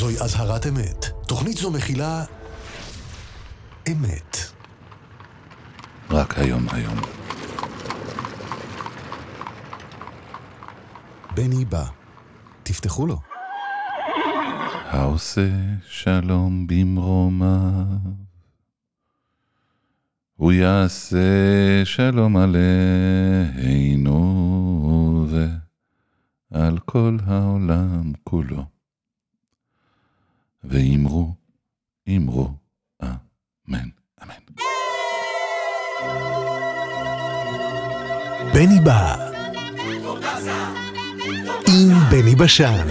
זוהי אזהרת אמת. תוכנית זו מכילה אמת. רק היום. בני בא. תפתחו לו. העושה שלום במרומיו, הוא יעשה שלום עלינו ועל כל העולם כולו. ואמרו, אמן. בני בא. עם בני בשן.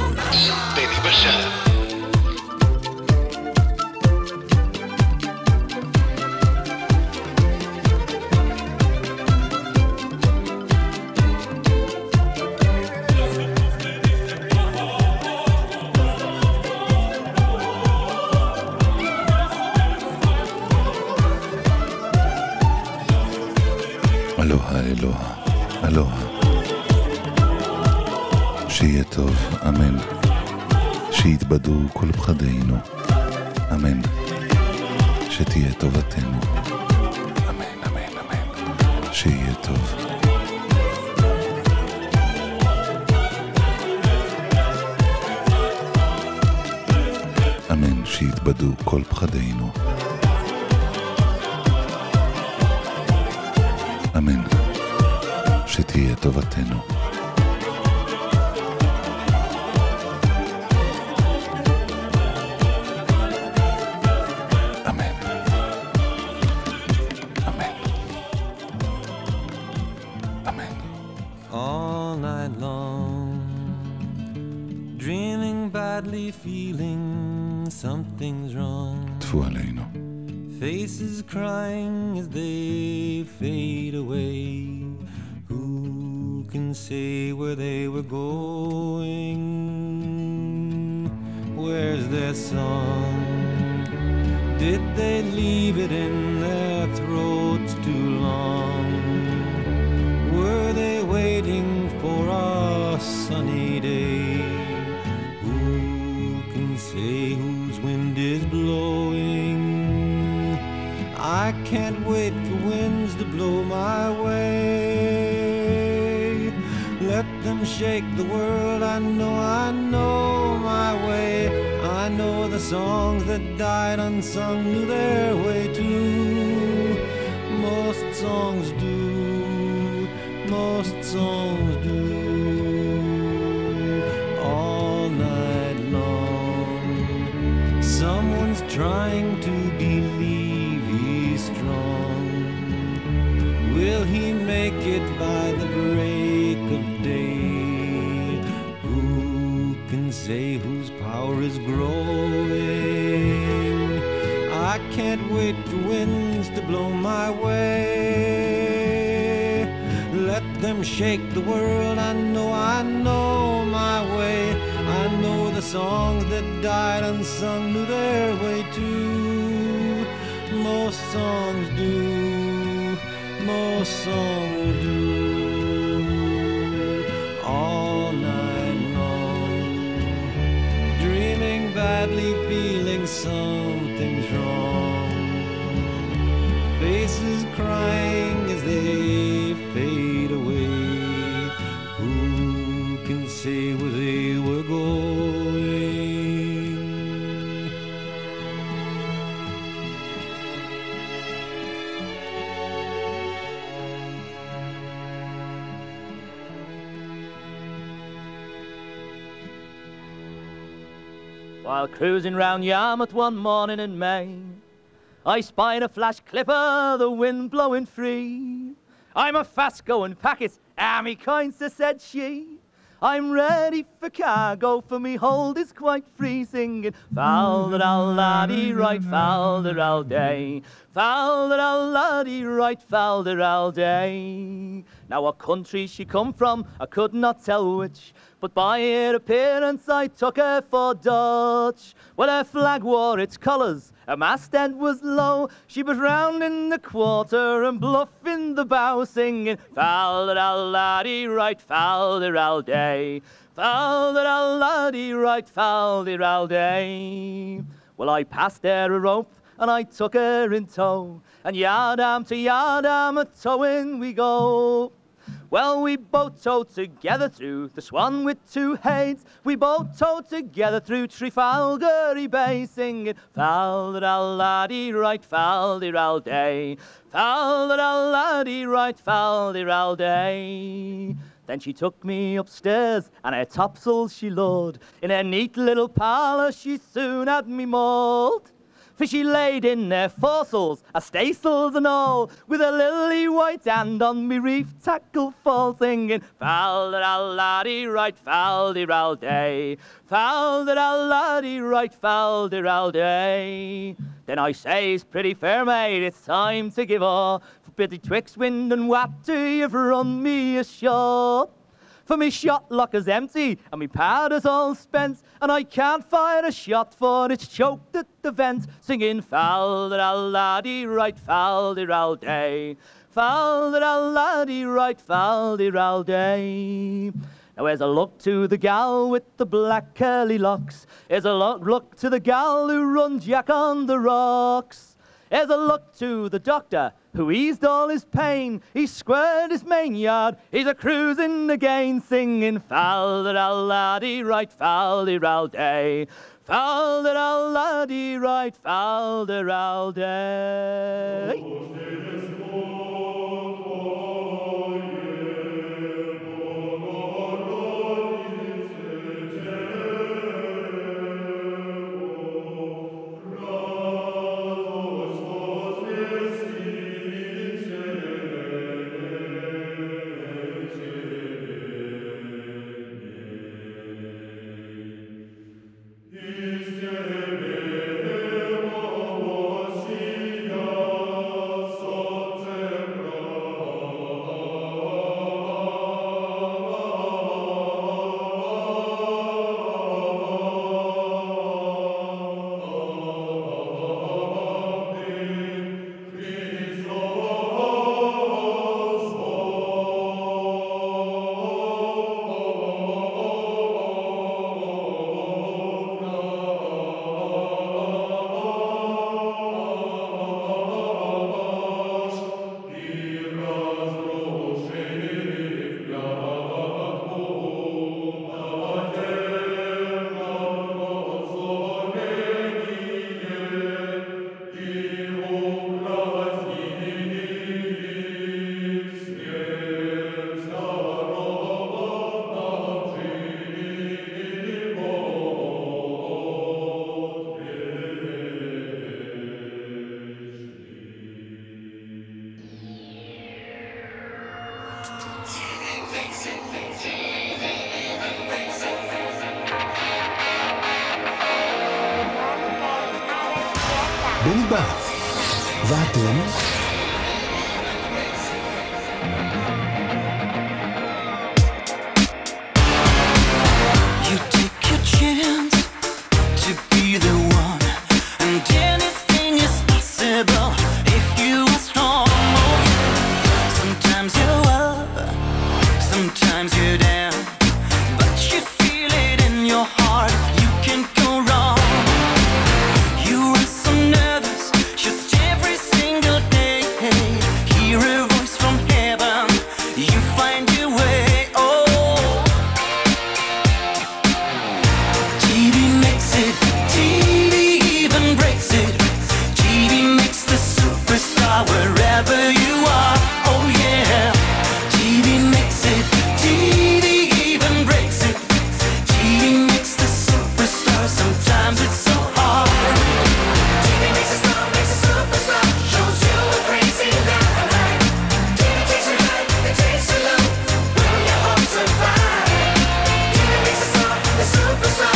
אלוהה, שיהיה טוב, אמן. שיתבדו כל פחדינו, אמן. שתהיה טובתנו, אמן. שיהיה טוב. אמן, שיתבדו כל פחדינו, אמן. שתהיה טובתנו. אמן. All night long, dreaming badly, feeling something's wrong. טפו עלינו. Faces crying as they fade away. Who can say where they were going? Where's their song? Did they leave it in their throats too long? Were they waiting for a sunny day? Who can say whose wind is blowing? I can't wait for winds to blow my way. Let them shake the world, I know my way. I know the songs that died unsung knew their way too. Most songs do. All night long, someone's trying to believe he's strong. Will he make it by the break of day? Who can say whose power is growing? I can't wait for winds to blow my way. Let them shake the world, I know my way. I know the songs that died unsung knew their way too. Most songs do. All night long, dreaming badly, feeling something's wrong. Faces crying as they fade away. Who can say where they were going? While cruising round Yarmouth one morning in May, I spied a flash clipper, the wind blowing free. I'm a fast-going packet, me kind, so said she. I'm ready for cargo, for me hold is quite free, singing Fal-de-ral laddie right, fal-de-ral day, fal-de-ral laddie right, fal-de-ral day. Now what country she come from, I could not tell which, but by her appearance I took her for Dutch. Well, her flag wore its colours, her masthead was low, she was round in the quarter and bluff in the bow, singing Fal-de-ral laddie right, fal-de-ral day, Fal-de-ral-la-dee, right, fal-de-ral-day. Well, I passed her a rope, and I took her in tow, and yard-arm to yard-arm a-towing we go. Well, we both towed together through the Swan with two heads. We both towed together through Trafalgar Bay, singing fal-de-ral-la-dee, right, fal-de-ral-day. Fal-de-ral-la-dee, right, fal-de-ral-day. Then she took me upstairs, and her topsails she lowered. In her neat little parlour she soon had me mauled. For she laid in their foresails, a staysails and all, with a lily white hand on me reef tackle fall, singing fal-de-ral-la-dee, right, fal-de-ral-day. Fal-de-ral-la-dee, right, fal-de-ral-day. Then I says, pretty fair maid, it's time to give off. Betwixt wind and water you've run me ashore. For me shot lock is empty and me powder's all spent, and I can't fire a shot for it's choked at the vent, singing fal-de-ral-la-dee, right, fal-de-ral-day. Fal-de-ral-la-dee, right, fal-de-ral-day. Now here's a look to the gal with the black curly locks. Here's a look to the gal who runs Jack on the rocks. Here's a look to the doctor who eased all his pain. He squared his main yard, he's a cruising again, singing fal-de-ral-la-dee, right, fal-de-ral-day. Fal-de-ral-la-dee, right, fal-de-ral-day. בני בא, ואתם? You take your chance to be the one, and anything is possible if you are strong. Oh, yeah. Sometimes you're up, sometimes you're down, but you feel it in your heart, you can't go wrong. You are so nervous just every single day. Hear a voice from heaven, you find your way. TV makes it, TV even breaks it. TV makes the superstar wherever you are. Oh yeah. TV makes it, TV even breaks it. TV makes the superstar. Sometimes it's so hard. TV makes a star, makes a superstar. Shows you a crazy night. TV takes you high, it takes you low. When your hopes are fine. TV makes a star, a superstar.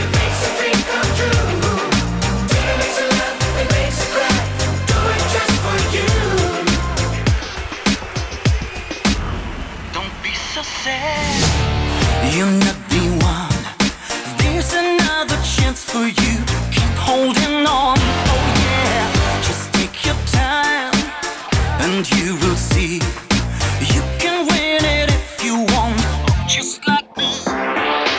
You're not the one. There's another chance for you. Keep holding on. Oh yeah. Just take your time, and you will see you can win it if you want. Just like me.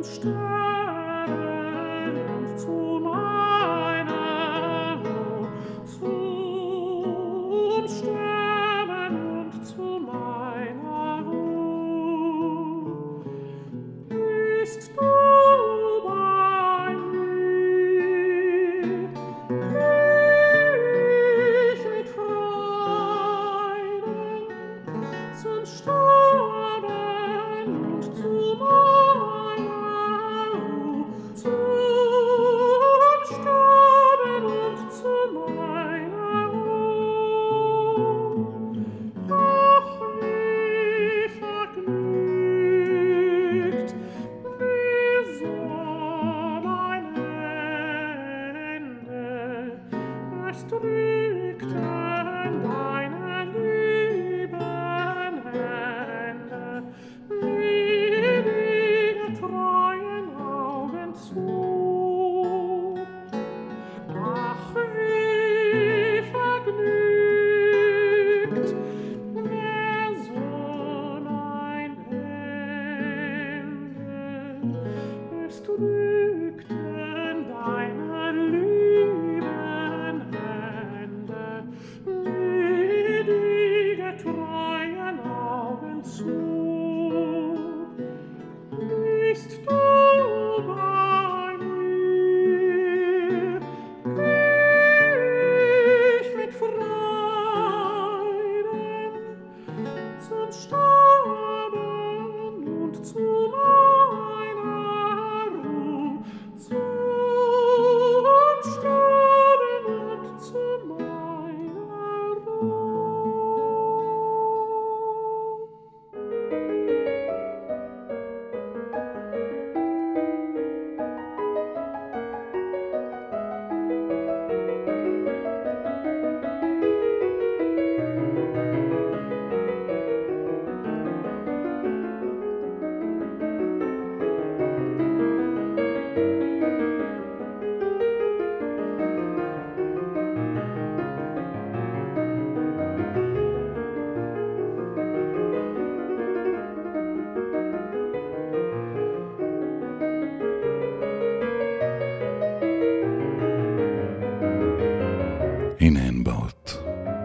הנה הן באות.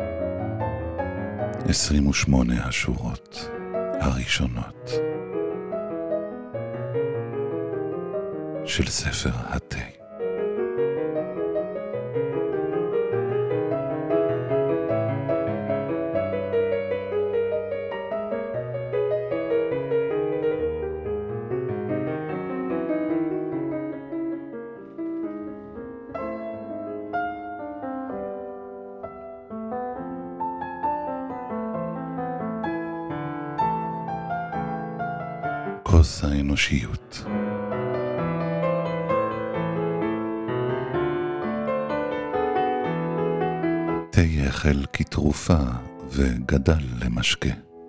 28 השורות הראשונות של ספר התה. כוס האנושיות. תה החל כתרופה וגדל למשקה.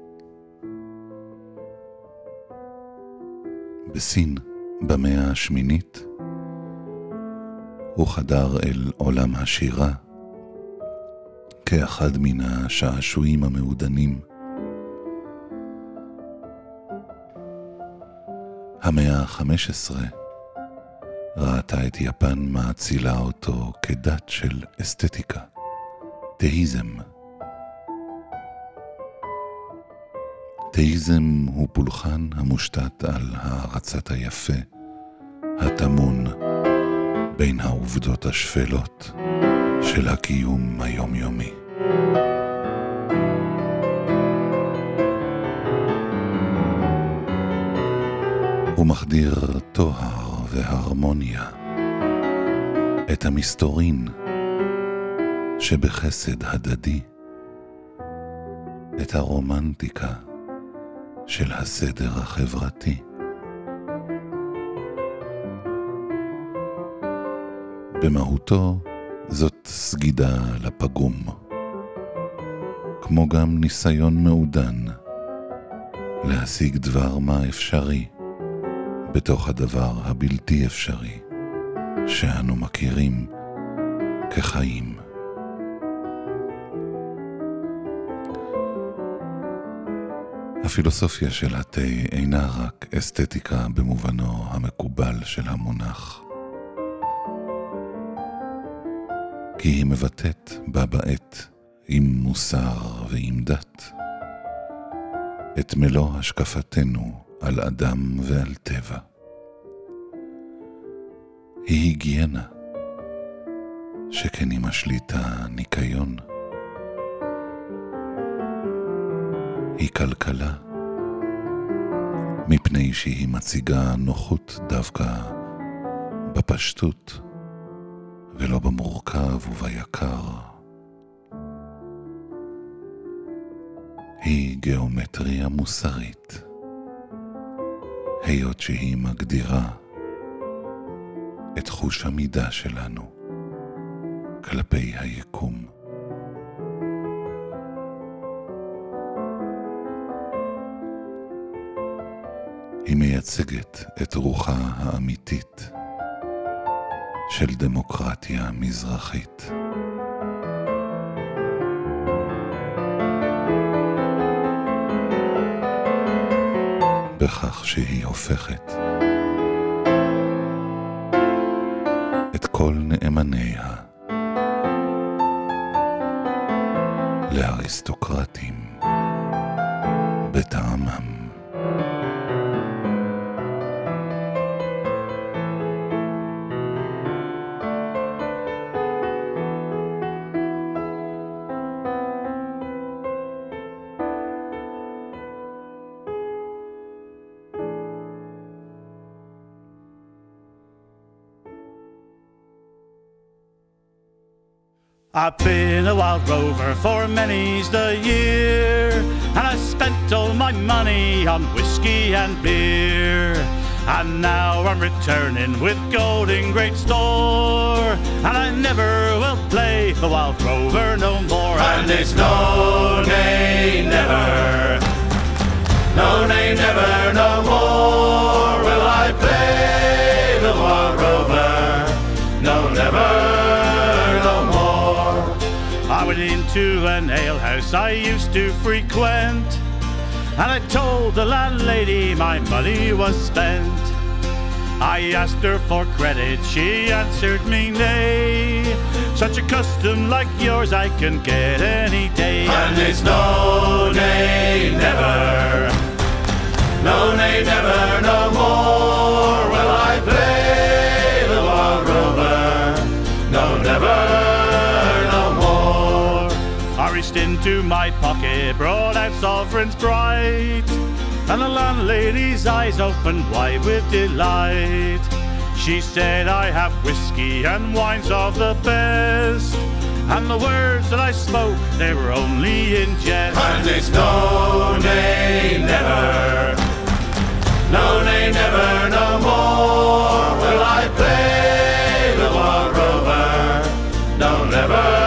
בסין, במאה השמינית, הוא חדר אל עולם השירה כאחד מן השעשועים המעודנים. המאה ה-15 ראתה את יפן מאצילה אותו כדת של אסתטיקה, תאיזם. תאיזם הוא פולחן המושתת על הערצת היפה, התמון בין העובדות השפלות של הקיום היומיומי. הוא מחדיר תוהר והרמוניה, את המסתורין שבחסד הדדי, את הרומנטיקה של הסדר החברתי. במהותו זאת סגידה לפגום, כמו גם ניסיון מעודן להשיג דבר מה אפשרי בתוך הדבר הבלתי אפשרי שאנו מכירים כחיים. הפילוסופיה של התה אינה רק אסתטיקה במובנו המקובל של המונח, כי היא מבטאת בה בעת עם מוסר ועם דת את מלוא השקפתנו על אדם ועל טבע. היא היגיינה, שכן היא משליטה ניקיון. היא כלכלה, מפני שהיא מציגה נוחות דווקא בפשטות ולא במורכב וביקר. היא גיאומטריה מוסרית, היות שהיא מגדירה את חוש המידה שלנו כלפי היקום. היא מייצגת את רוחה האמיתית של דמוקרטיה מזרחית. בכך שהיא הופכת את כל נאמניה לאריסטוקרטים בטעמם. I've been a wild rover for many's the year, and I spent all my money on whiskey and beer. And now I'm returning with gold in great store, and I never will play the wild rover no more. And it's no, nay, never, no, nay, never, no more will I play the wild rover, no, never. I went into an alehouse I used to frequent, and I told the landlady my money was spent. I asked her for credit, she answered me nay. Such a custom like yours I can get any day. And it's no, nay, never, no, nay, never, no more will I play the wild rover, no, never. Into my pocket, brought out sovereigns bright, and the landlady's eyes opened wide with delight. She said, I have whiskey and wines of the best, and the words that I spoke, they were only in jest. And it's no, nay, never, no, nay, never, no more will I play the wild rover, no, never.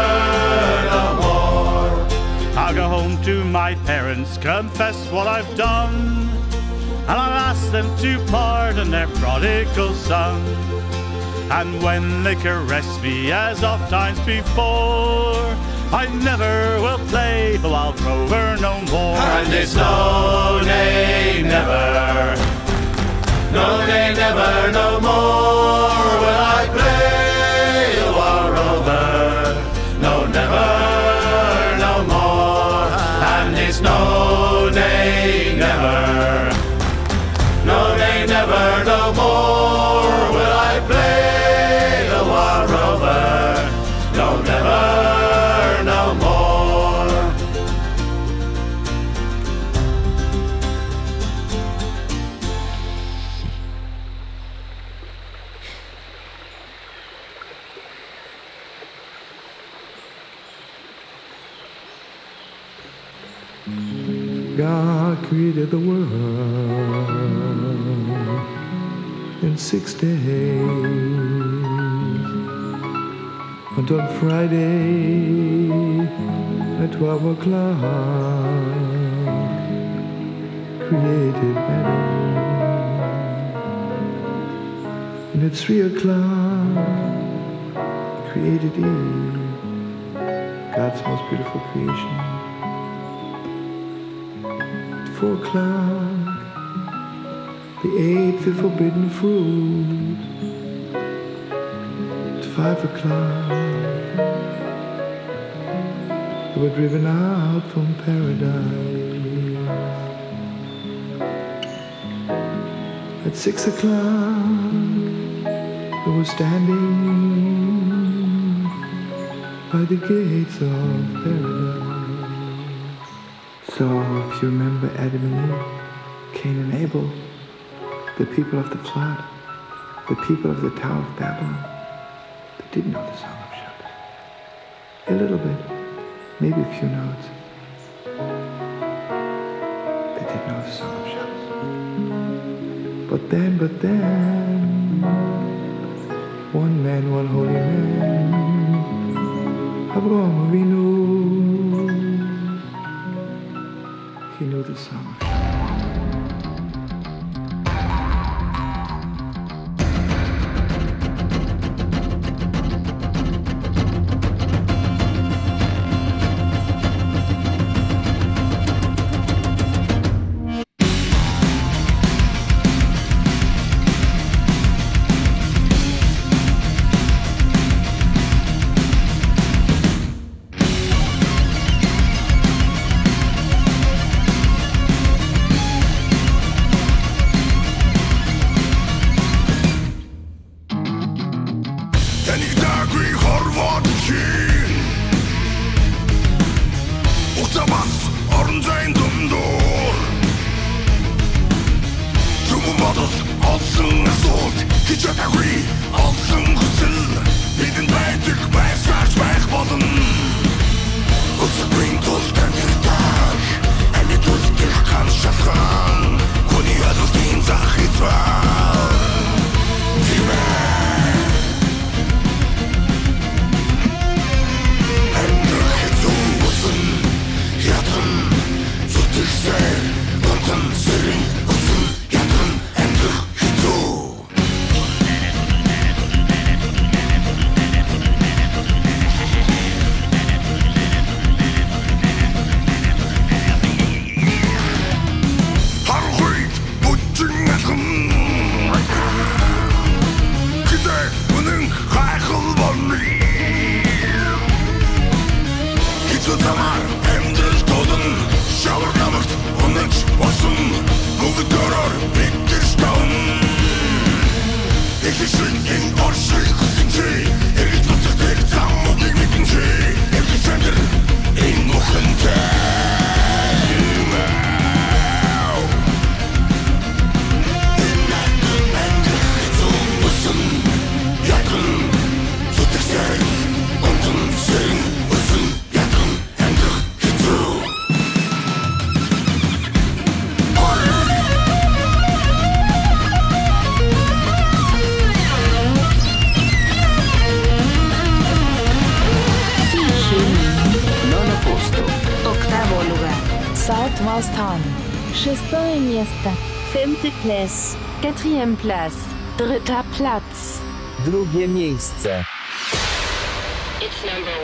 I'll go home to my parents, confess what I've done, and I'll ask them to pardon their prodigal son. And when they caress me as oft times before, I never will play the wild rover no more. And it's no, nay, never, no, nay, never, no more will I play the wild rover, no, never. No, nay, never, no, nay, never, no more will I play the wild rover, no, never, no more. God created the world in 6 days, and on Friday at 12 o'clock created Adam, and at 3 o'clock created Eve, God's most beautiful creation. 4 o'clock, they ate the forbidden fruit. At 5 o'clock, they were driven out from paradise. At 6 o'clock, they were standing by the gates of paradise. So, if you remember Adam and Eve, Cain and Abel, the people of the flood, the people of the Tower of Babylon, they did know the Song of Shabbos. A little bit, maybe a few notes. They did know the Song of Shabbos. But then, one man, one holy man, Avraham Avinu, he knew the Song of Shabbos. Шестое место. Femte place. Quatrième place. Dritter Platz. Drugie miejsce. It's number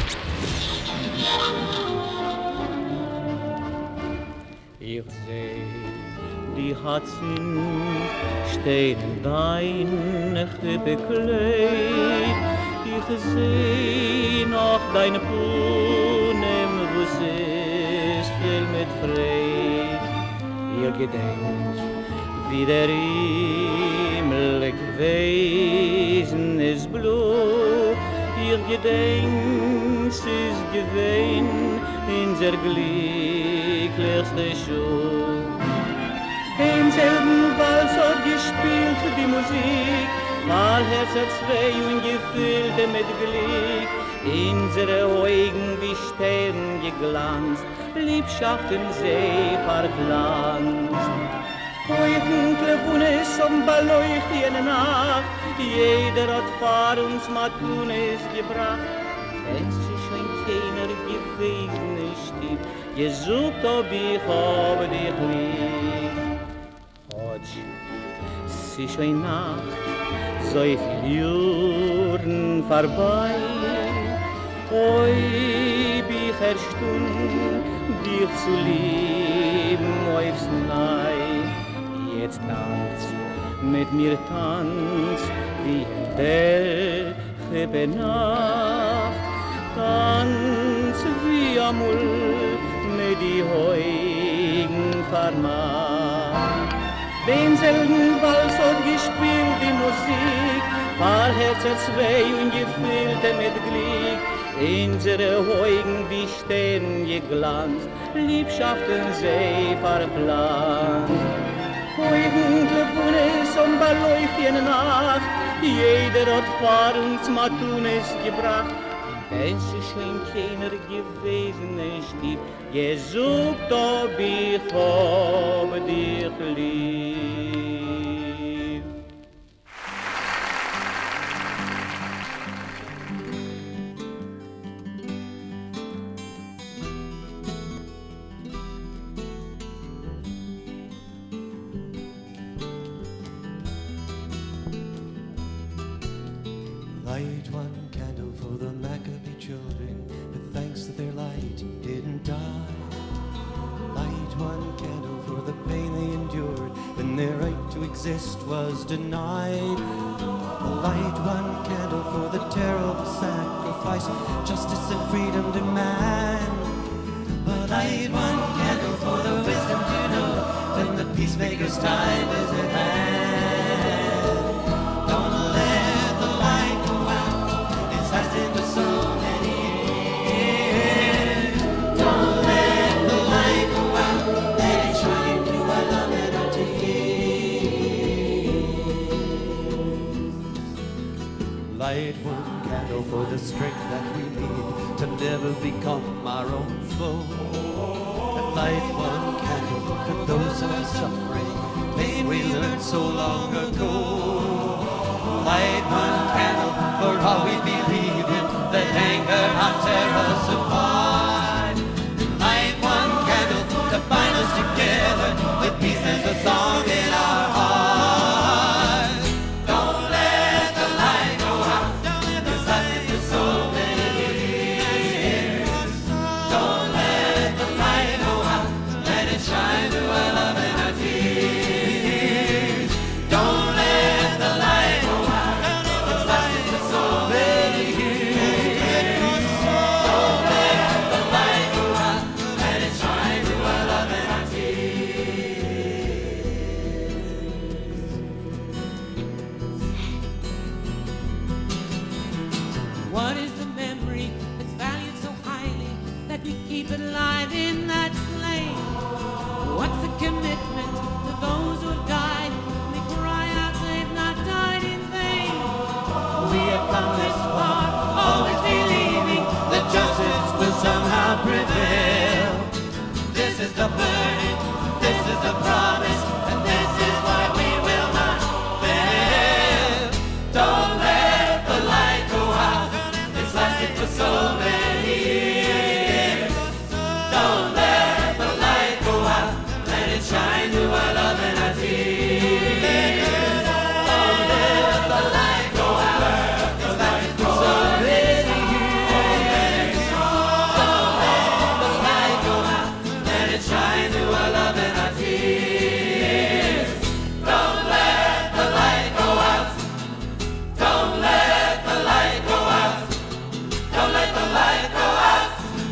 1. Ich seh die Hatzen stehen in deine Krippe kleid. Ich seh noch deine Punem, wo es ist viel mit Freit. Ihr gedenkt, wie der Himmel gewesen ist blau. Ihr gedenkt, es ist gewesen, unser glücklichste Schuh. Im selben Wals hat gespielt die Musik, all Herz hat zwei und gefüllte mit Glück. Unsere Augen wie Sterne geglanzt, Liebschaft in See verglanzt. Dunkle Wunes am Beleucht jene Nacht, jeder hat vor uns Matunes gebracht. Es ist schon keiner gewesen, Stieb, gesucht ob ich habe dich lieb. Es ist schon Nacht, so viel Jahren vorbei. Oi, bi Stund dich zu lieben aufs Neu. Jetzt tanz, mit mir tanz, wie welche Benacht. Tanz wie amul, mit die Heugen vermacht. Denselben Wals hat gespielt die Musik, paar Herzen zwei und gefüllte mit Glück. Unsere Heugen wie Sterne geglanzt, Liebschaften sei verplant. Heugen Klebunes und beleuchten Nacht, jeder hat vor uns Matunes gebracht. Wenn sie schon keiner gewesen ist, gesucht, ob ich hab dich lieb. Light one candle for the Maccabee children, but thanks to their light didn't die. Light one candle for the pain they endured when their right to exist was denied. Light one candle for the terrible sacrifice justice and freedom demand. But light one candle for the wisdom to know when the peacemaker's time is at hand. Don't let the light go out, it's lasted for so many years. Don't let the light go out, let it shine through our love and our tears. Light one candle for the strength that we need to never become our own foe. And light one candle for those who are suffering, pain we learned so long ago. Light one candle for all we believe in, that anger not tear us apart. Light one candle to bind us together with peace as a song in our hearts. Don't let the light go out, it's lasted for so many years. Don't let the light go out, let it shine through our love and our tears. Don't let the light go out, it's lasted for so many years. Don't let the light go out, let it shine through our love and our tears. What is the memory that's valued so highly that we keep it alive in that flame? What's the commitment to those who have died? We cry out they've not died in vain. We have come this far, always believing that justice will somehow prevail. This is the burden, this is the promise, and this is why we will not fail. Don't let the light go out, it's lasted for so many years. Don't let the light go out, let it shine through our love and our tears. Don't let the light go out, it's lasted for so many years. Don't let the light go out, let it shine through our love and our tears. Don't let the light go out, don't let the light go out, don't let the light go out.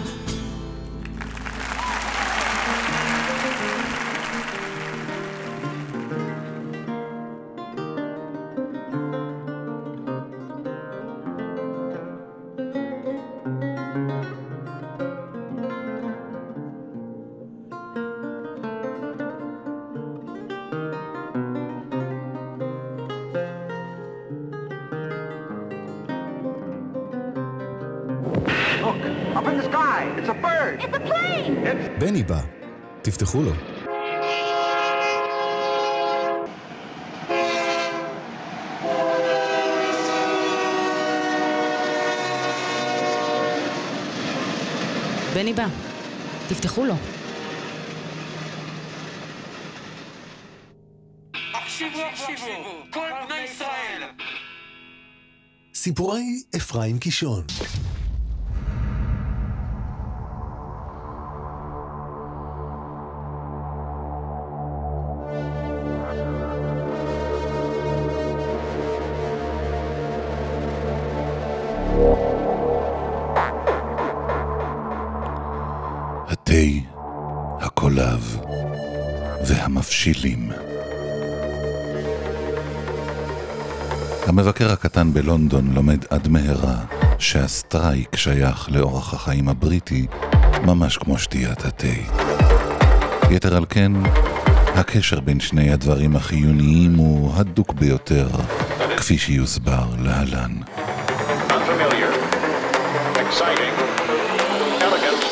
Up in the sky! It's a bird! It's a plane! בני בא, תפתחו לו. בני בא, תפתחו לו. הקשיבו, כל בני ישראל. סיפורי אפרים קישון. והמבשילים. המבקר הקטן בלונדון לומד עד מהרה שהסטרייק שייך לאורח החיים הבריטי ממש כמו שתיית התה. יתר על כן, הקשר בין שני הדברים החיוניים הוא הדוק ביותר, כפי שיוסבר להלן. Unfamiliar, exciting, elegant,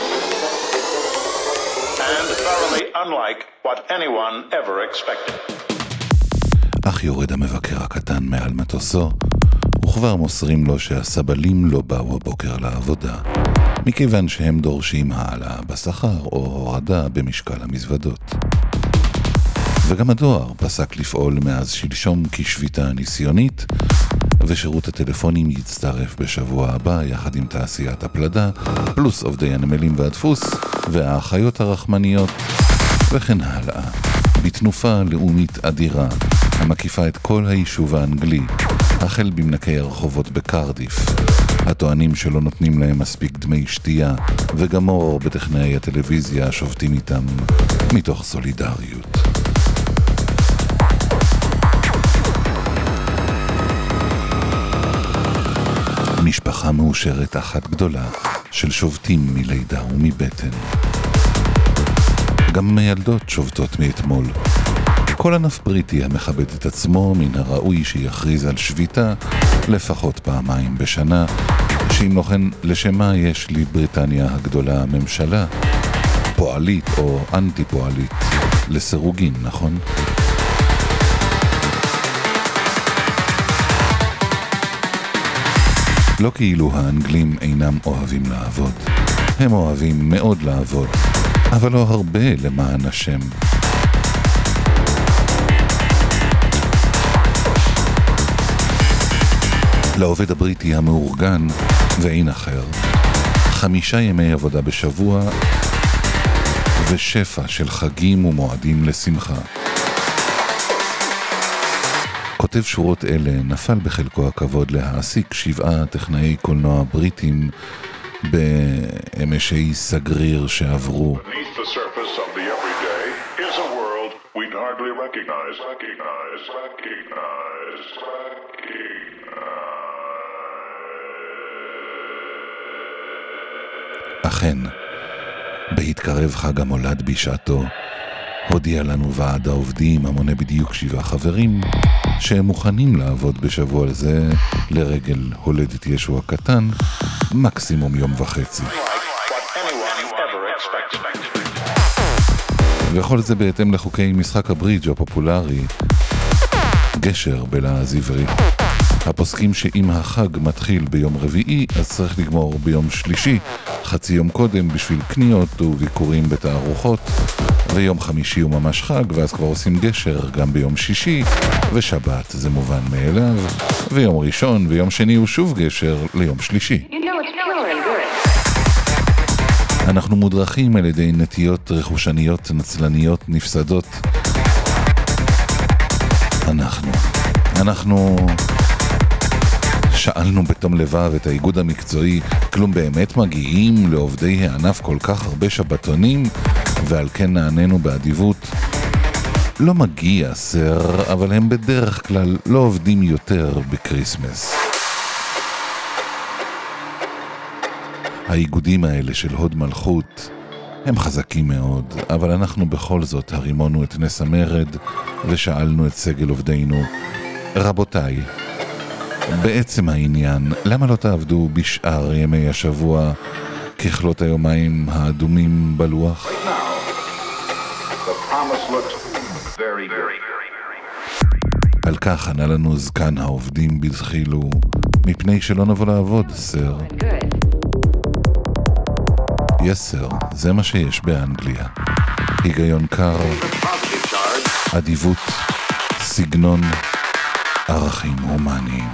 and thoroughly unlike what anyone ever expected. אך יורד המבקר הקטן מעל מטוסו, וכבר מוסרים לו שהסבלים לא באו הבוקר לעבודה, מכיוון שהם דורשים העלה בשכר או הורדה במשקל המזוודות. וגם הדואר פסק לפעול מאז שלשום כשביתה ניסיונית, ושירות הטלפונים יצטרף בשבוע הבא יחד עם תעשיית הפלדה, פלוס עובדי הנמלים והדפוס והאחיות הרחמניות, וכן הלאה. בתנופה לאומית אדירה, המקיפה את כל היישוב האנגלי, החל במנקי הרחובות בקרדיף, הטוענים שלא נותנים להם מספיק דמי שתייה, וגם אור בטכנאי הטלוויזיה שובתים איתם מתוך סולידריות. משפחה מאושרת אחת גדולה של שובתים מלידה ומבטן. גם מילדות שובתות מאתמול. כל ענף בריטי המכבד את עצמו מן הראוי שיכריז על שביתה לפחות פעמיים בשנה, שאם לא כן לשמה יש לבריטניה הגדולה ממשלה, פועלית או אנטי פועלית, לסירוגין, נכון? לא כאילו האנגלים אינם אוהבים לעבוד. הם אוהבים מאוד לעבוד, אבל לא הרבה למען השם. לעובד הבריטי המאורגן ואין אחר, 5 ימי עבודה בשבוע ושפע של חגים ומועדים לשמחה. כותב שורות אלה נפל בחלקו הכבוד להעסיק 7 טכנאי קולנוע בריטים באמשי סגריר שעברו. Beneath the surface of the everyday is a world we'd hardly recognize. אכן, בהתקרב חג המולד בשעתו, הודיע לנו ועד העובדים המונה בדיוק 7 חברים שהם מוכנים לעבוד בשבוע הזה לרגל הולדת ישוע קטן, מקסימום יום וחצי. וכל זה בהתאם לחוקי משחק הברידג' הפופולרי, גשר בלעז עברי. הפוסקים שאם החג מתחיל ביום רביעי, אז צריך לגמור ביום שלישי, חצי יום קודם בשביל קניות וביקורים בתערוכות, ויום חמישי הוא ממש חג, ואז כבר עושים גשר גם ביום שישי, ושבת זה מובן מאליו, ויום ראשון ויום שני הוא שוב גשר ליום שלישי. אנחנו מודרכים על ידי נטיות רכושניות נצלניות נפסדות. אנחנו שאלנו בתום לבב את האיגוד המקצועי, כלום באמת מגיעים לעובדי הענף כל כך הרבה שבתונים? ועל כן נעננו באדיבות, לא מגיע סר, אבל הם בדרך כלל לא עובדים יותר בקריסמס. האיגודים האלה של הוד מלכות הם חזקים מאוד, אבל אנחנו בכל זאת הרימונו את נס המרד ושאלנו את סגל עובדינו, רבותיי, בעצם העניין, למה לא תעבדו בשאר ימי השבוע ככלות היומיים האדומים בלוח? על כך ענה לנו זקן העובדים בדחילו, מפני שלא נבוא לעבוד, סר. סר, זה מה שיש באנגליה. היגיון קר, אדיבות, סגנון, ערכים הומניים.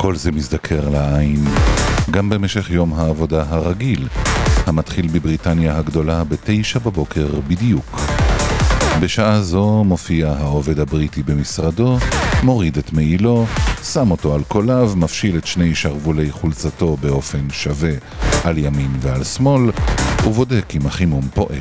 כל זה מזדקר לעין גם במשך יום העבודה הרגיל, המתחיל בבריטניה הגדולה ב9 בבוקר בדיוק. בשעה זו מופיע העובד הבריטי במשרדו, מוריד את מעילו, שם אותו על קוליו, מפשיל את שני שרוולי חולצתו באופן שווה על ימין ועל שמאל, ובודק אם החימום פועל.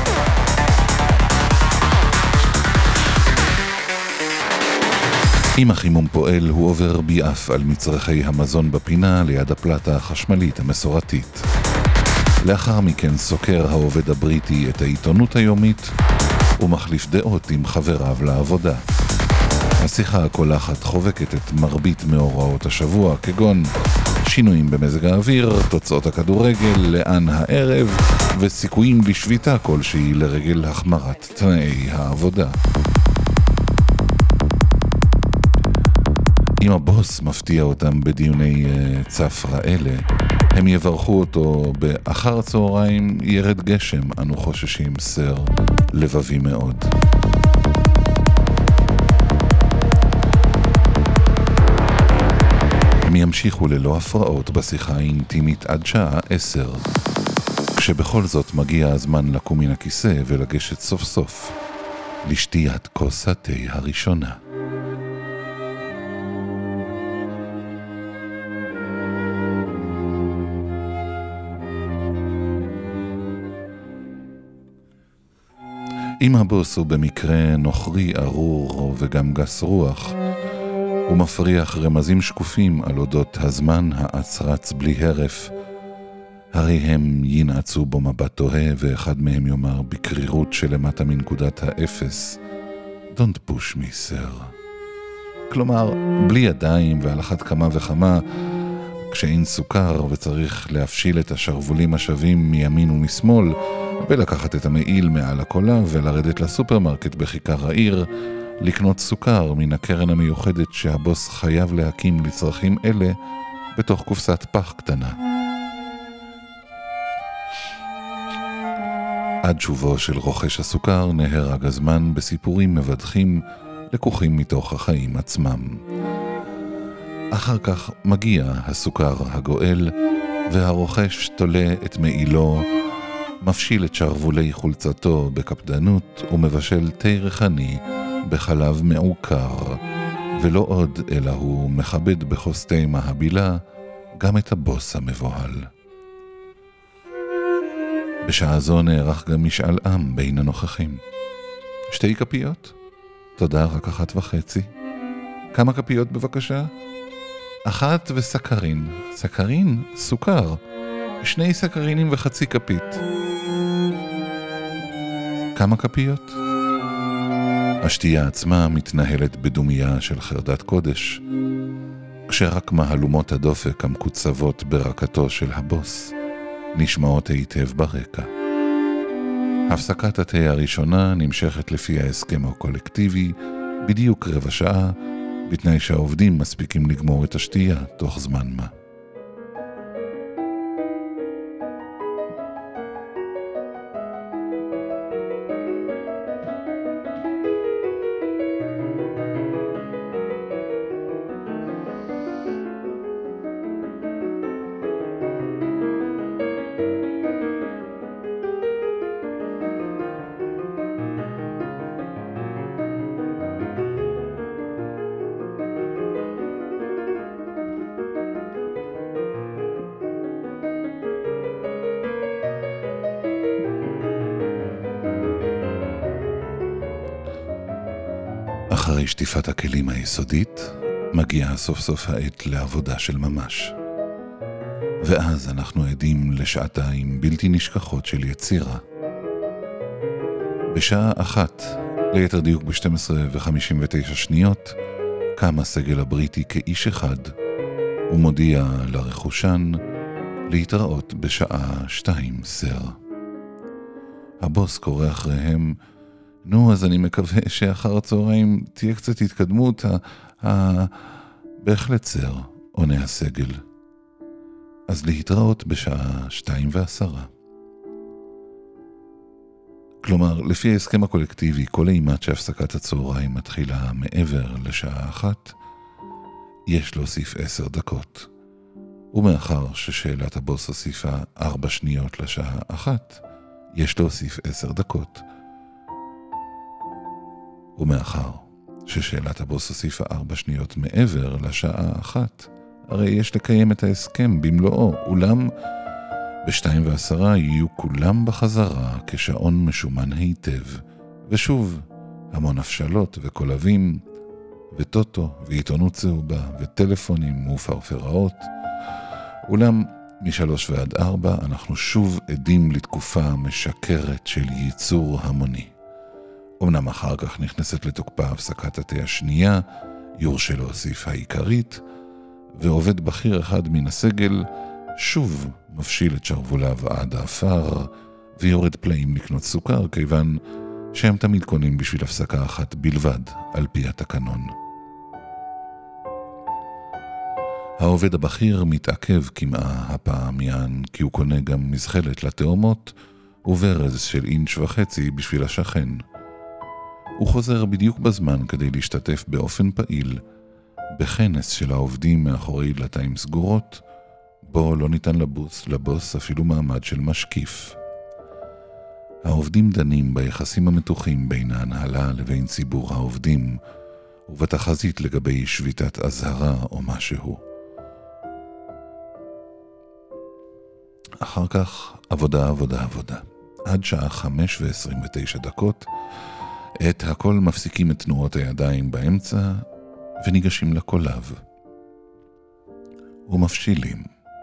אם החימום פועל, הוא עובר ביעף על מצרכי המזון בפינה ליד הפלטה החשמלית המסורתית. לאחר מכן סוקר העובד הבריטי את העיתונות היומית ומחליף דעות עם חבריו לעבודה. השיחה הקולחת חובקת את מרבית מאורעות השבוע, כגון שינויים במזג האוויר, תוצאות הכדורגל, לאן הערב וסיכויים לשביתה כלשהי לרגל החמרת תנאי העבודה. אם הבוס מפתיע אותם בדיוני צפרה אלה, הם יברכו אותו באחר הצהריים ירד גשם, אנו חוששים סר, לבבי מאוד. הם ימשיכו ללא הפרעות בשיחה האינטימית עד שעה 10, כשבכל זאת מגיע הזמן לקום מן הכיסא ולגשת סוף סוף לשתיית כוס התה הראשונה. אם הבוס הוא במקרה נוכרי ארור וגם גס רוח, הוא מפריח רמזים שקופים על אודות הזמן האצרץ בלי הרף, הרי הם ינעצו בו מבט תוהה, ואחד מהם יאמר בקרירות שלמטה מנקודת האפס, Don't push me, sir. כלומר, בלי ידיים ועל אחת כמה וכמה, כשאין סוכר וצריך להפשיל את השרבולים השווים מימין ומשמאל, ולקחת את המעיל מעל הקולה ולרדת לסופרמרקט בכיכר העיר, לקנות סוכר מן הקרן המיוחדת שהבוס חייב להקים לצרכים אלה בתוך קופסת פח קטנה. עד שובו של רוכש הסוכר נהרג הזמן בסיפורים מבדחים לקוחים מתוך החיים עצמם. אחר כך מגיע הסוכר הגואל, והרוכש תולה את מעילו, מפשיל את שרוולי חולצתו בקפדנות ומבשל תה ריחני בחלב מעוקר, ולא עוד אלא הוא מכבד בכוס תה מהבילה גם את הבוס המבוהל. בשעה זו נערך גם משאל עם בין הנוכחים. 2 כפיות? תודה, רק 1.5. כמה כפיות בבקשה? 1 וסקרין. סקרין? סוכר. 2 סקרינים ו0.5 כפית. כמה כפיות? השתייה עצמה מתנהלת בדומיה של חרדת קודש, כשרק מהלומות הדופק המקוצבות ברקתו של הבוס נשמעות היטב ברקע. הפסקת התה הראשונה נמשכת לפי ההסכם הקולקטיבי בדיוק 15 שעה, בתנאי שהעובדים מספיקים לגמור את השתייה תוך זמן מה. אחרי שטיפת הכלים היסודית, מגיעה סוף סוף העת לעבודה של ממש. ואז אנחנו עדים לשעתיים בלתי נשכחות של יצירה. בשעה 1, ליתר דיוק ב-12:59, קם הסגל הבריטי כאיש אחד, ומודיע לרכושן להתראות בשעה 2, סר. הבוס קורא אחריהם, נו, אז אני מקווה שאחר הצהריים תהיה קצת התקדמות, בהחלט סר, עונה הסגל. אז להתראות בשעה 2:10. כלומר, לפי ההסכם הקולקטיבי, כל אימת שהפסקת הצהריים מתחילה מעבר לשעה 1, יש להוסיף 10 דקות. ומאחר ששאלת הבוס הוסיפה 4 שניות לשעה 1, יש להוסיף 10 דקות. ומאחר ששאלת הבוס הוסיפה 4 שניות מעבר לשעה 1, הרי יש לקיים את ההסכם במלואו, אולם ב-2:10 יהיו כולם בחזרה כשעון משומן היטב, ושוב המון הפשלות וקולבים, וטוטו ועיתונות צהובה וטלפונים ופרפראות. אולם מ-3 ועד 4 אנחנו שוב עדים לתקופה משקרת של ייצור המוני. אמנם אחר כך נכנסת לתוקפה הפסקת התה השנייה, יורשה להוסיף העיקרית, ועובד בכיר אחד מן הסגל שוב מפשיל את שרבוליו עד האפר, ויורד פלאים לקנות סוכר, כיוון שהם תמיד קונים בשביל הפסקה אחת בלבד, על פי התקנון. העובד הבכיר מתעכב כמעה הפעם יען, כי הוא קונה גם מזחלת לתאומות, וברז של 1.5 אינץ' בשביל השכן. הוא חוזר בדיוק בזמן כדי להשתתף באופן פעיל, בכנס של העובדים מאחורי דלתיים סגורות, בו לא ניתן לבוס אפילו מעמד של משקיף. העובדים דנים ביחסים המתוחים בין ההנהלה לבין ציבור העובדים, ובתחזית לגבי שביתת אזהרה או משהו. אחר כך עבודה. עד שעה 5:29, את הכל מפסיקים את תנועות הידיים באמצע, וניגשים לקולב. ומפשילים.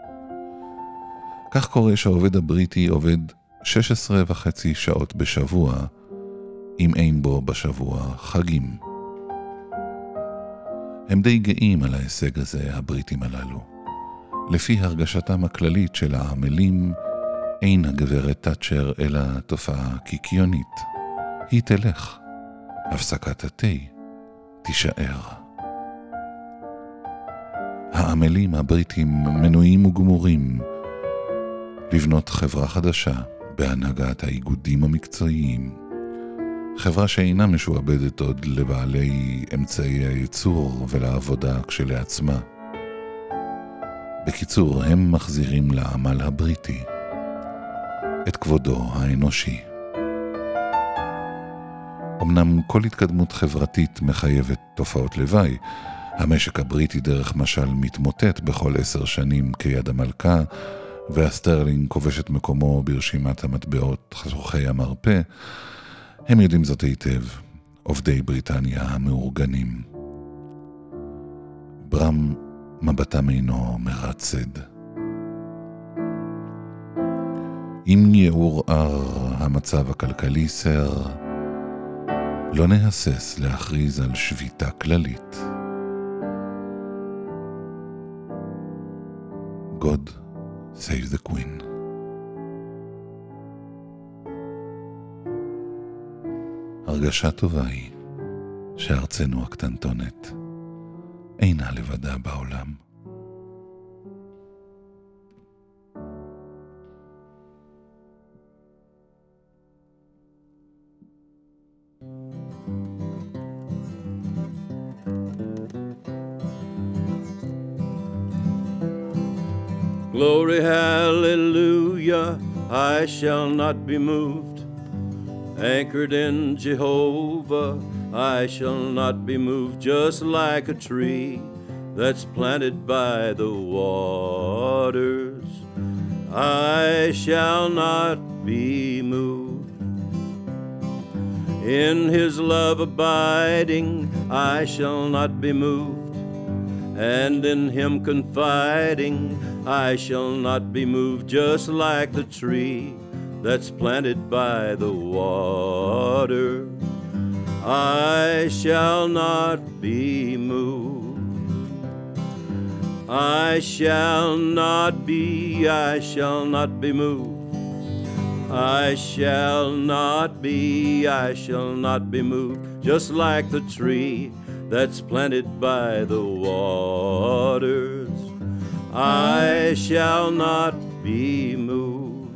כך קורה שהעובד הבריטי עובד 16.5 שעות בשבוע, אם אין בו בשבוע חגים. הם די גאים על ההישג הזה, הבריטים הללו. לפי הרגשתם הכללית של העמלים, אין הגברת תאצ'ר אלא תופעה קיקיונית. היא תלך. הפסקת התה תישאר. העמלים הבריטים מנויים וגמורים לבנות חברה חדשה בהנהגת האיגודים המקצועיים. חברה שאינה משועבדת עוד לבעלי אמצעי הייצור ולעבודה כשלעצמה. בקיצור, הם מחזירים לעמל הבריטי את כבודו האנושי. אמנם כל התקדמות חברתית מחייבת תופעות לוואי. המשק הבריטי דרך משל מתמוטט בכל 10 שנים כיד המלכה, והסטרלינג כובש את מקומו ברשימת המטבעות חשוכי המרפא. הם יודעים זאת היטב, עובדי בריטניה המאורגנים. ברם מבטם אינו מרצד. אם יעורער המצב הכלכלי סר, לא נהסס להכריז על שביתה כללית. God save the Queen. הרגשה טובה היא שארצנו הקטנטונת אינה לבדה בעולם. Glory, hallelujah, I shall not be moved. Anchored in Jehovah, I shall not be moved. Just like a tree that's planted by the waters, I shall not be moved. In his love abiding, I shall not be moved. And in him confiding, I shall not be moved. Just like the tree that's planted by the water, I shall not be moved. I shall not be moved. I shall not be moved. Just like the tree that's planted by the waters, I shall not be moved.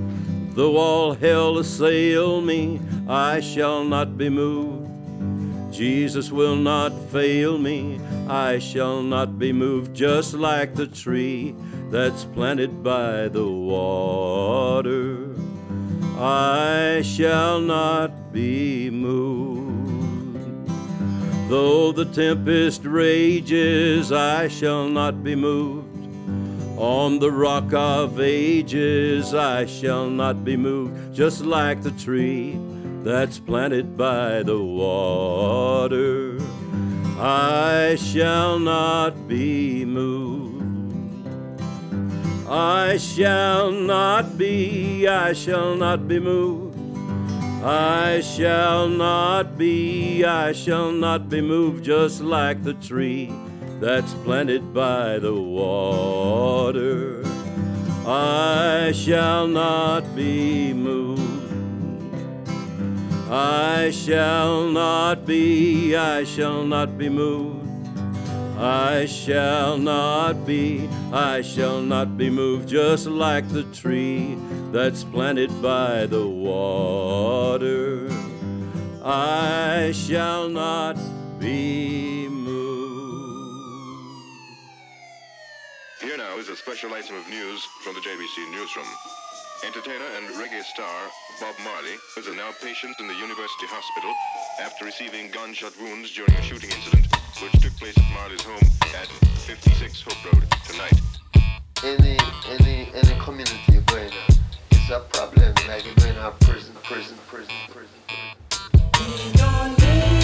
Though all hell assail me, I shall not be moved. Jesus will not fail me. I shall not be moved, just like the tree that's planted by the water. I shall not be moved. Though the tempest rages, I shall not be moved. On the rock of ages, I shall not be moved, just like the tree that's planted by the water. I shall not be moved. I shall not be moved. I shall not be moved, just like the tree that's planted by the water. I shall not be moved. I shall not be moved. I shall not be moved, just like the tree that's planted by the water. I shall not be moved. Here now is a special item of news from the JBC Newsroom. Entertainer and reggae star Bob Marley is a now patient in the University Hospital after receiving gunshot wounds during a shooting incident which took place at Marley's home at 56 Hope Road tonight. Any community going on, it's a problem, like you're going to have prison. We don't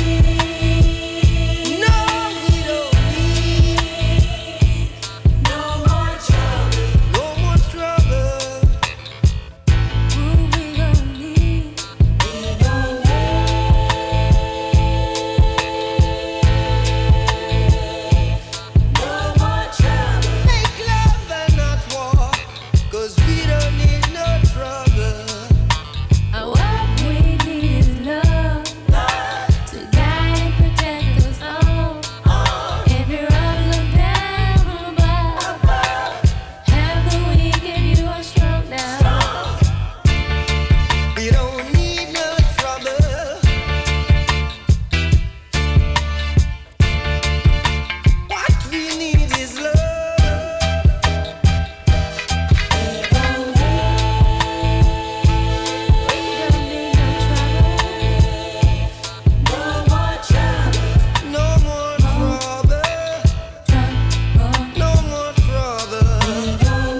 need, no, we don't need no more trouble. No more trouble. We don't need, no more trouble. Make love and not war, 'cause we don't need no trouble. What we need is love, to guide and protect us all. If you're up, look down above. Have the weak if you are strong now. We don't need no trouble. What we need is love. We don't need no trouble. No more trouble. No more trouble. No more trouble. We don't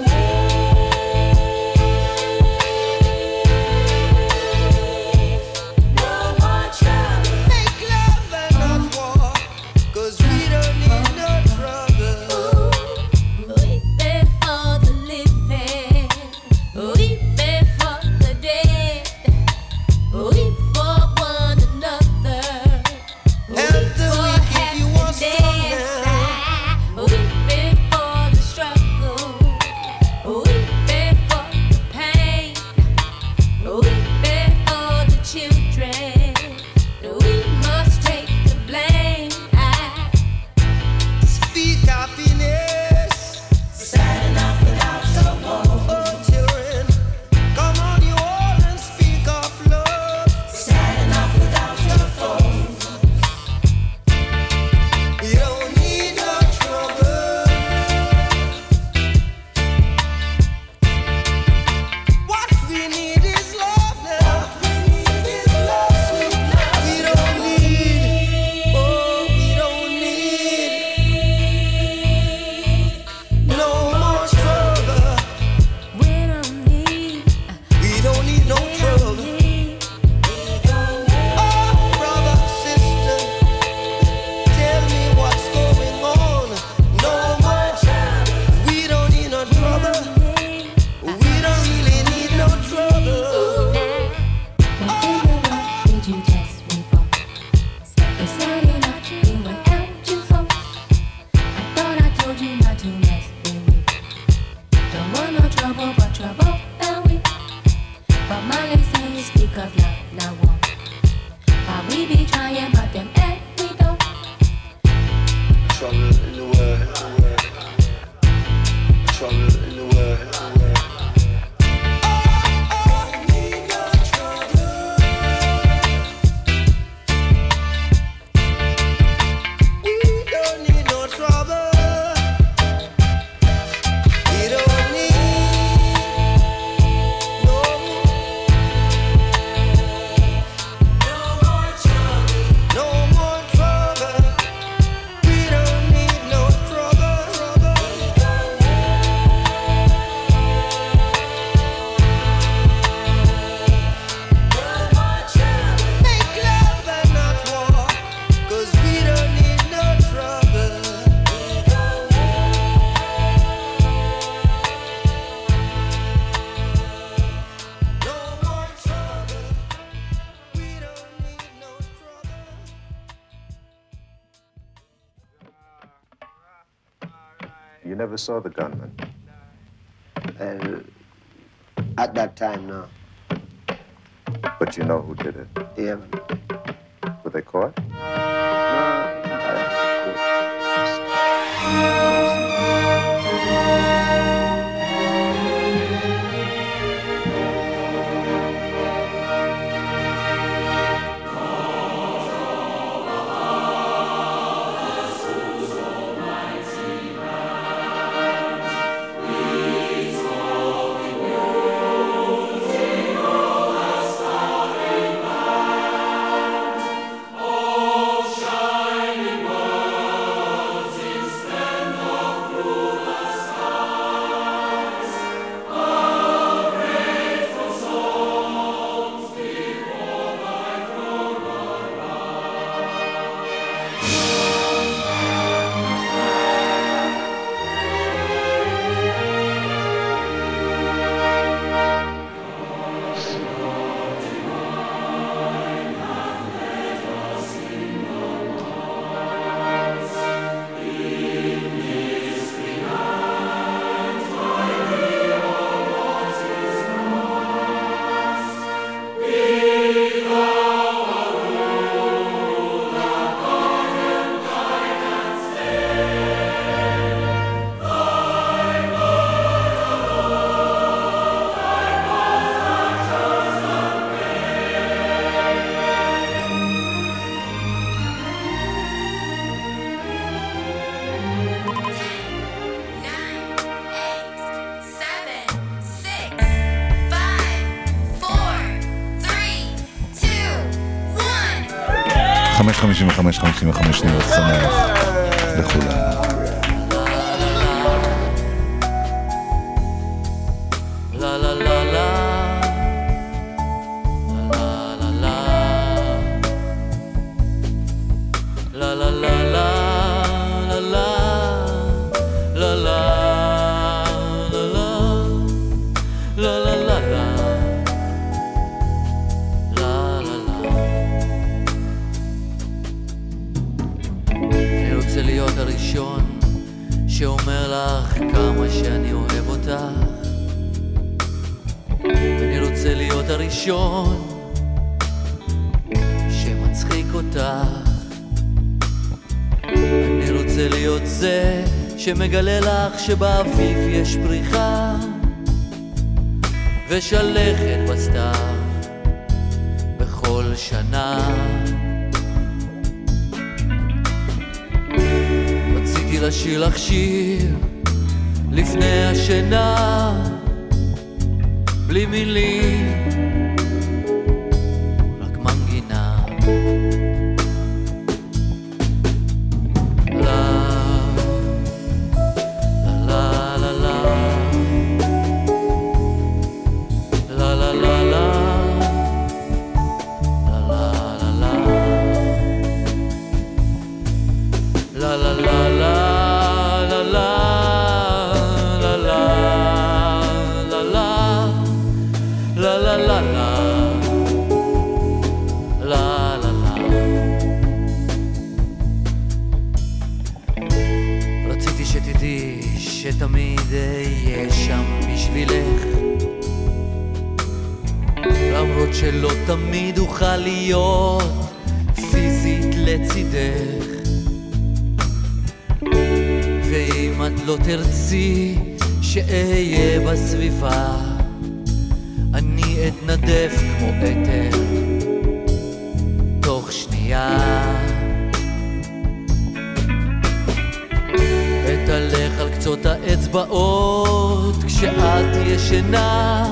no more trouble. Make love and not war, 'cause we don't need no trouble. We pay for the living. We pay for the dead. We for one another. Help the weak if you want strong. We pay for the struggle. We pay for the pain. We pay for the children. We must take the blame. Speak happiness. Sad enough without someone. Oh, children, come on, you all, and speak of love. Sad enough without your phone. You don't need no trouble. What we need is love now. We don't need, oh, we don't need no more trouble. We don't need no trouble. Oh, brother, sister, tell me what's going on. No more trouble. We don't need no trouble. We don't really need no trouble. Did you test me for? Decided not to went out you for. I thought I told you not to mess with me. Don't want no trouble, but trouble found we. But my legs say speak of love, not war. While we be trying, but them we go. Trouble in the world. Trouble in the world. You never saw the gunman? At that time, no. But you know who did it? Yeah. Were they caught? חמש 55 שניות שמח לכולנו. שאומר לך כמה שאני אוהב אותך. אני רוצה להיות הראשון שמצחיק אותך. אני רוצה להיות זה שמגלה לך שבאביב יש פריחה ושלכת בסתיו בכל שנה. לשיר לך שיר לפני השינה בלי מילים, רק מנגינה. שתמיד אהיה שם בשבילך, למרות שלא תמיד אוכל להיות פיזית לצידך. ואם את לא תרצי שאהיה בסביבה, אני אתנדף כמו אתר תוך שנייה. אתהלך על קצות האצבעות כשאת ישנה,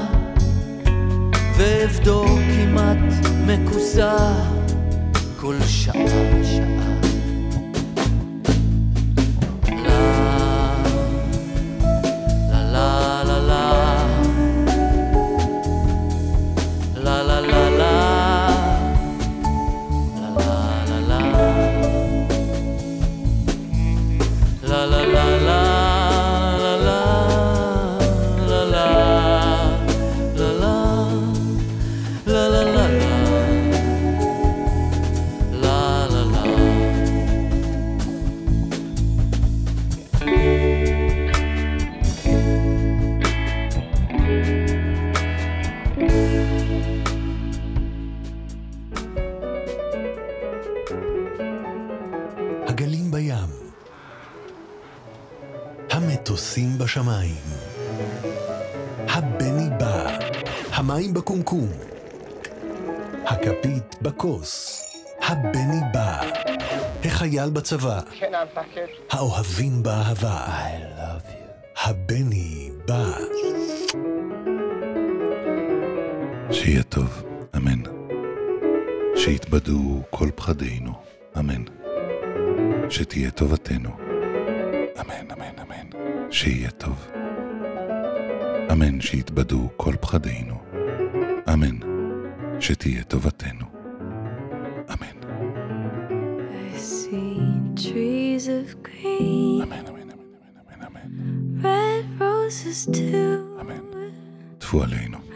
ואבדוק אם את מכוסה כל שעה שעה. המטוסים בשמיים. הבני בא, המים בקומקום. הכפית בכוס, הבני בא. החייל בצבא, האוהבים באהבה. I love you. הבני בא. שיהיה טוב, אמן. שיתבדו כל פחדינו, אמן. שתהיה טובתנו, אמן, אמן, אמן. שיהיה טוב, אמן. שיתבדו כל פחדינו, אמן. שתהיה טובתנו, אמן. I see trees of green, אמן, אמן, אמן, אמן, אמן, אמן. red roses too. אמן. טפו עלינו.